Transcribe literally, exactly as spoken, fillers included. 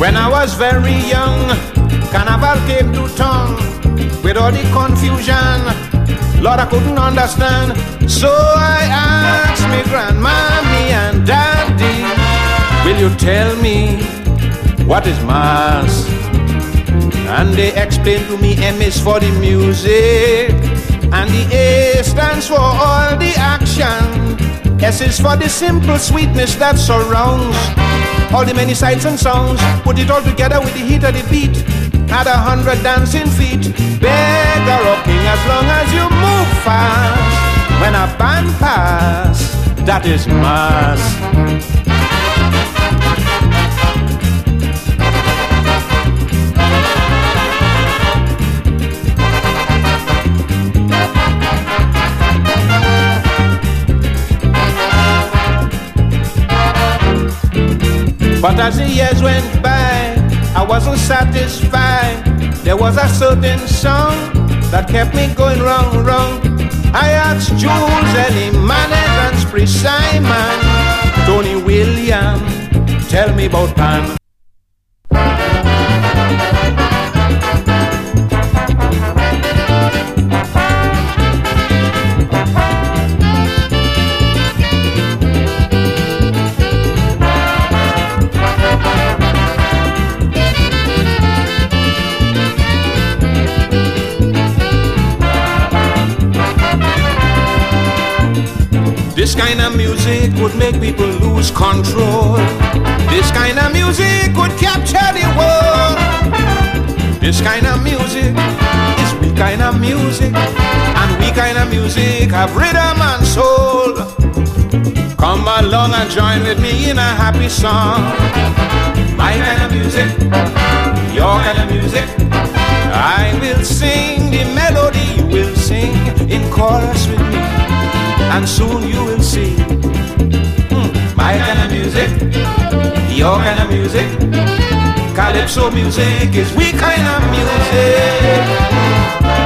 When I was very young, Carnival came to town with all the confusion. Lord, I couldn't understand. So I asked me grandmommy and daddy, will you tell me what is mass? And they explained to me M is for the music, and the A stands for all the action. S is for the simple sweetness that surrounds all the many sights and sounds. Put it all together with the heat of the beat. Add a hundred dancing feet. Beg or rocking as long as you move fast. When a band pass, that is mass. But as the years went by, I wasn't satisfied. There was a certain song that kept me going wrong, wrong. I asked Jules, Ellie, Manet, and Spree Simon, Tony William, tell me about Pan. This kind of music would make people lose control. This kind of music would capture the world. This kind of music is we kind of music, and we kind of music have rhythm and soul. Come along and join with me in a happy song. My kind of music, your kind of music. I will sing the melody, you will sing in chorus with me, and soon you will see mm, my kind of music, your kind of music. Calypso music is we kind of music.